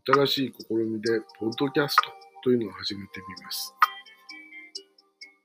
新しい試みで、ポッドキャストというのを始めてみます。